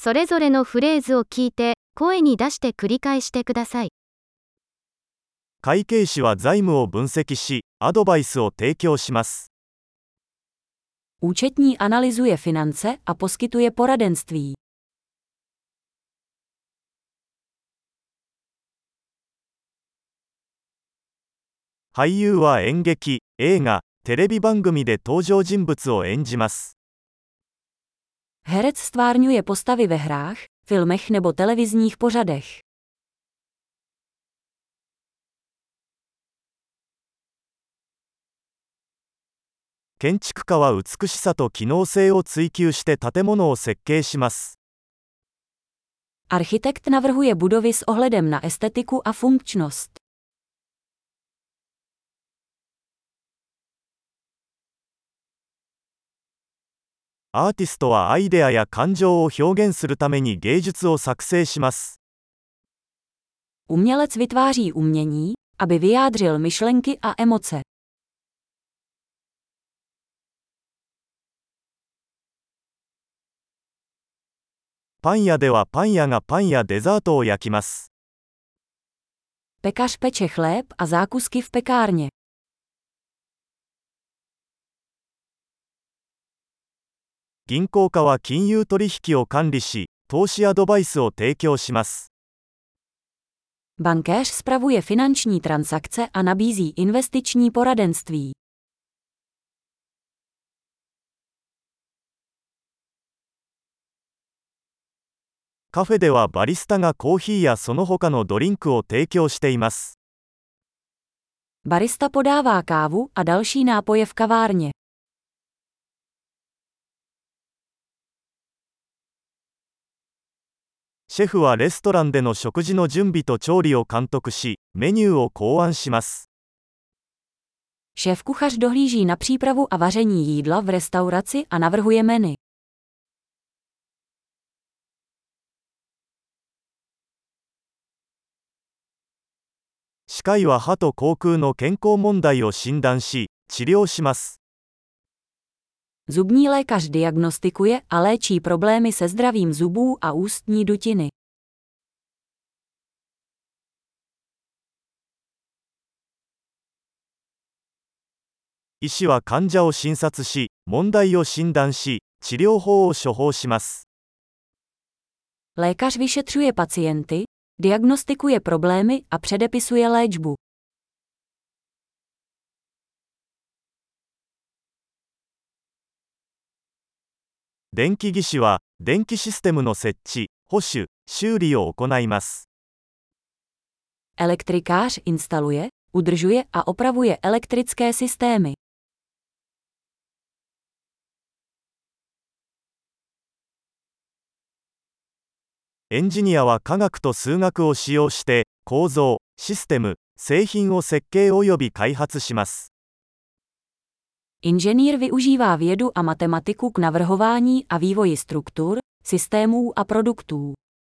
それぞれのフレーズを聞いて、声に出して繰り返してください。 会計士は財務を分析し、アドバイスを提供します。 Účetní analyzuje finance a poskytuje poradenství. 俳優は演劇、映画、テレビ番組で登場人物を演じます。 Herec stvárňuje postavy ve hrách, filmech nebo televizních pořadech. 建築家は美しさと機能性を追求して建物を設計します。 Architekt navrhuje budovy s ohledem na estetiku a funkčnost. アーティストはアイデアや感情を表現するために芸術を作成します。 Umělec vytváří umění, aby vyjádřil myšlenky a emoce. パン屋ではパン屋がパンやデザートを焼きます。 Pekař peče chléb a zákusky v pekárně. 銀行家は金融取引を管理し、投資アドバイスを提供します。 Bankéř spravuje finanční transakce a nabízí investiční poradenství. カフェではバリスタがコーヒーやその他のドリンクを提供しています。 Barista podává kávu a další nápoje v kavárně. シェフはレストランでの食事の準備と調理を監督し、メニューを考案します。 Šéfkuchař dohlíží na přípravu a vaření jídla v restauraci a navrhuje menu. 歯科医は歯と口腔の健康問題を診断し、治療します。 Zubní lékař diagnostikuje a léčí problémy se zdravím zubů a ústní dutiny. 医師は患者を診察し、問題を診断し、治療法を処方します。 Lékař vyšetřuje pacienty, diagnostikuje problémy a předepisuje léčbu. 電気技師は、電気システムの設置、保守、修理を行います。 Elektrikář instaluje, udržuje a opravuje elektrické systémy. エンジニアは科学と数学を使用して、構造、システム、製品を設計および開発します。 Inženýr využívá vědu a matematiku k navrhování a vývoji struktur, systémů a produktů.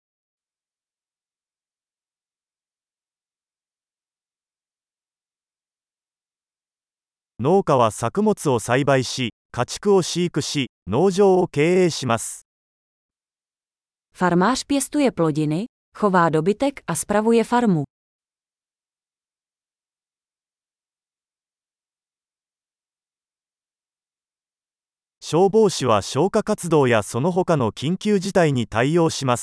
農家は作物を栽培し、家畜を飼育し、農場を経営します。 Farmář pěstuje plodiny, chová dobytek a spravuje farmu. 消防士は消火活動やその他の緊急事態に対応します。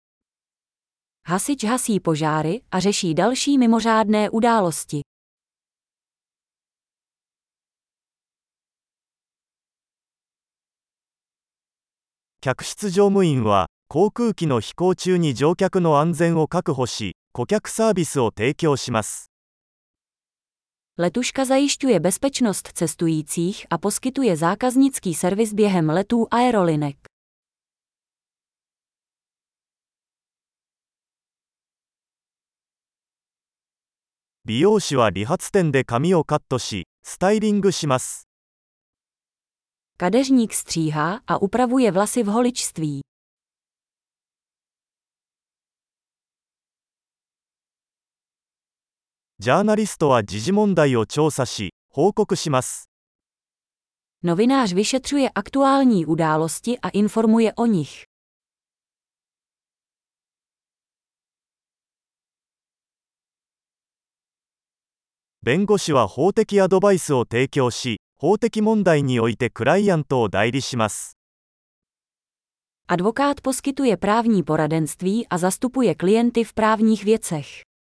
Hasič hasí požáry a řeší další mimořádné události. 客室乗務員は、航空機の飛行中に乗客の安全を確保し、顧客サービスを提供します。 Letuška zajišťuje bezpečnost cestujících a poskytuje zákaznický servis během letů aerolinek. 美容師は理髪店で髪をカットし、スタイリングします。 Kadeřník stříhá a upravuje vlasy v holičství. ジャーナリストは時事問題を調査し、報告します。 Novinář vyšetřuje aktuální události a informuje o nich. 弁護士は法的アドバイスを提供し、法的問題においてクライアントを代理します。 Advokát poskytuje právní poradenství a zastupuje klienty v právních věcech.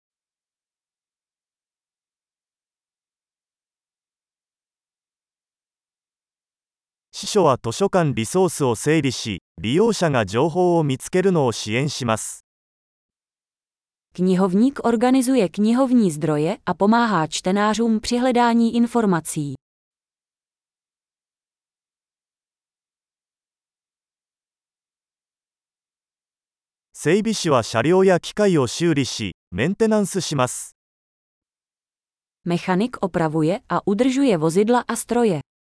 司書は図書館リソースを整理し、利用者が情報を見つけるのを支援します。 Knihovník organizuje knihovní zdroje a pomáhá čtenářům při hledání informací. 整備士は車両や機械を修理し、メンテナンスします。 Mechanik opravuje a udržuje vozidla a stroje.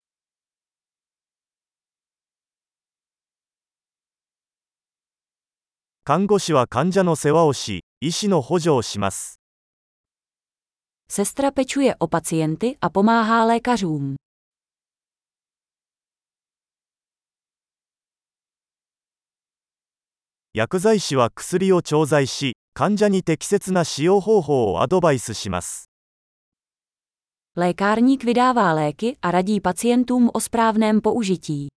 看護師は患者の世話をし、医師の補助をします。 Sestra pečuje o pacienty a pomáhá lékařům. 薬剤師は薬を調剤し、患者に適切な使用方法をアドバイスします。 Lékárník vydává léky a radí pacientům o správném použití.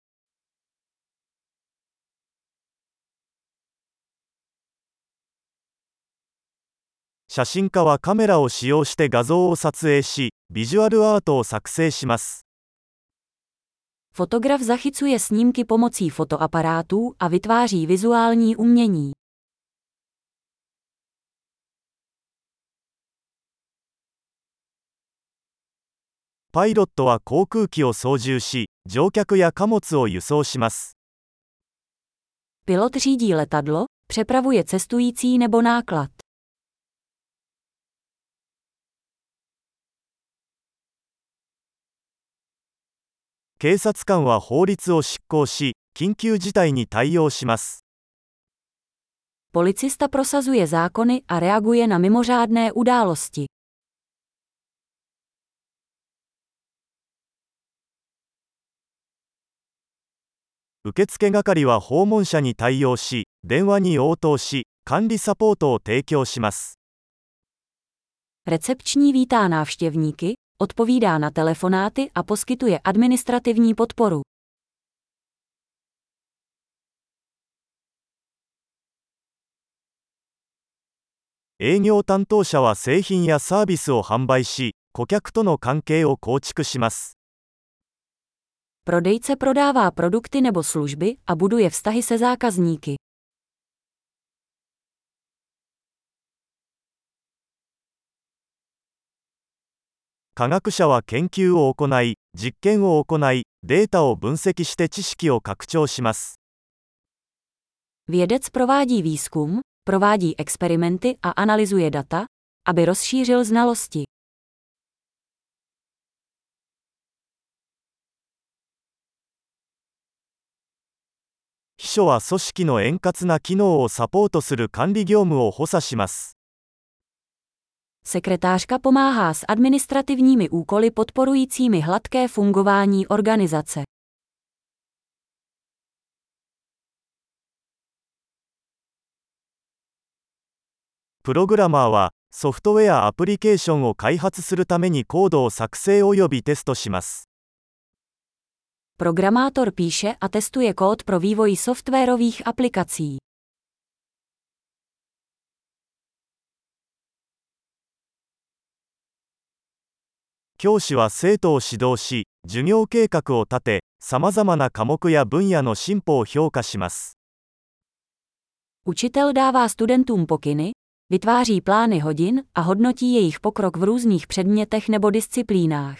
写真家はカメラを使用して画像を撮影し、ビジュアルアートを作成します。 Fotograf zachycuje snímky pomocí fotoaparátů a vytváří vizuální umění. パイロットは航空機を操縦し、乗客や貨物を輸送します。 Pilot řídí letadlo, přepravuje cestující nebo náklad. 警察官は法律を執行し、緊急事態に対応します。 Policista prosazuje zákony a reaguje na mimořádné události. 受付係は訪問者に対応し、電話に応答し、管理サポートを提供します。 Recepční vítá návštěvníky, odpovídá na telefonáty a poskytuje administrativní podporu. 営業担当者は製品やサービスを販売し、顧客との関係を構築します。 Prodejce prodává produkty nebo služby a buduje vztahy se zákazníky. 科学者は研究を行い、実験を行い、データを分析して知識を拡張します。 Vědec provádí výzkum, provádí experimenty a analyzuje data, aby rozšířil znalosti. 秘書は組織の円滑な機能をサポートする管理業務を補佐します。 Sekretářka pomáhá s administrativními úkoly podporujícími hladké fungování organizace. プログラマーはソフトウェアアプリケーションを開発するためにコードを作成およびテストします。 Programátor píše a testuje kód pro vývoj softwarových aplikací. 教師は生徒を指導し、授業計画を立て、さまざまな科目や分野の進歩を評価します。 Učitel dává studentům pokyny, vytváří plány hodin a hodnotí jejich pokrok v různých předmětech nebo disciplínách.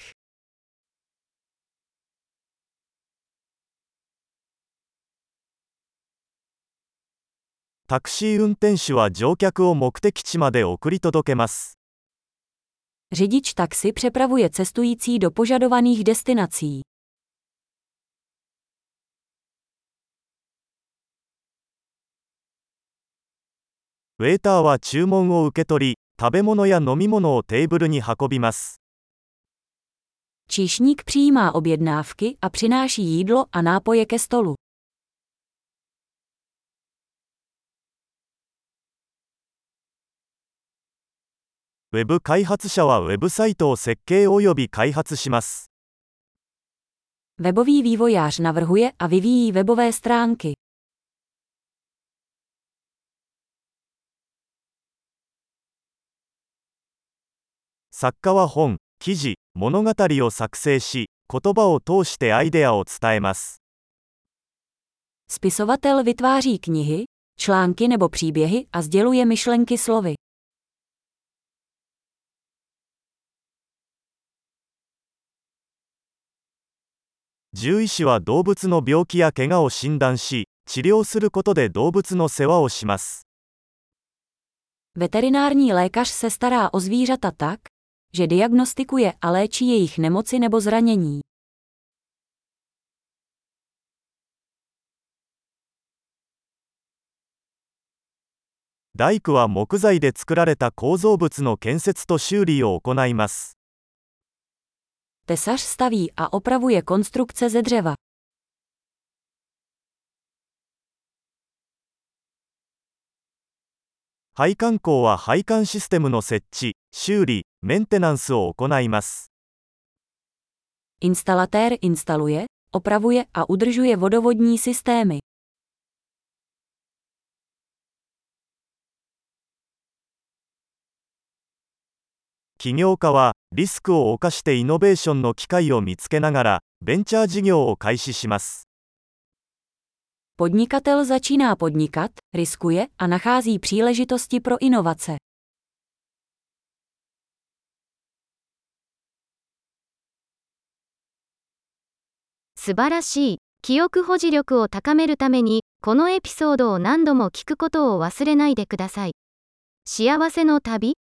タクシー運転手は乗客を目的地まで送り届けます。 Řidič taxi přepravuje cestující do požadovaných destinací. ウェーターは注文を受け取り、食べ物や飲み物をテーブルに運びます。 Číšník přijímá objednávky a přináší jídlo a nápoje ke stolu. ウェブ開発者はウェブサイトを設計および開発します。 Webový vývojář navrhuje a vyvíjí webové stránky. 作家は本、記事、物語を作成し、言葉を通してアイデアを伝えます。 Spisovatel vytváří knihy, články nebo příběhy a sděluje myšlenky slovy. 獣医師は動物の病気や怪我を診断し、治療することで動物の世話をします。 Veterinární lékař se stará o zvířata tak, že diagnostikuje a léčí jejich nemoci nebo zranění. 大工は木材で作られた構造物の建設と修理を行います。 Tesař staví a opravuje konstrukce ze dřeva. 配管工は配管システムの設置、修理、メンテナンスを行います。 Instalatér instaluje, opravuje a udržuje vodovodní systémy. 起業家はリスクを冒してイノベーションの機会を見つけながらベンチャー事業を開始します。 Podnikatel začíná podnikat, riskuje a nachází příležitosti pro inovace. 素晴らしい。記憶保持力を高めるために、このエピソードを何度も聞くことを忘れないでください。幸せの旅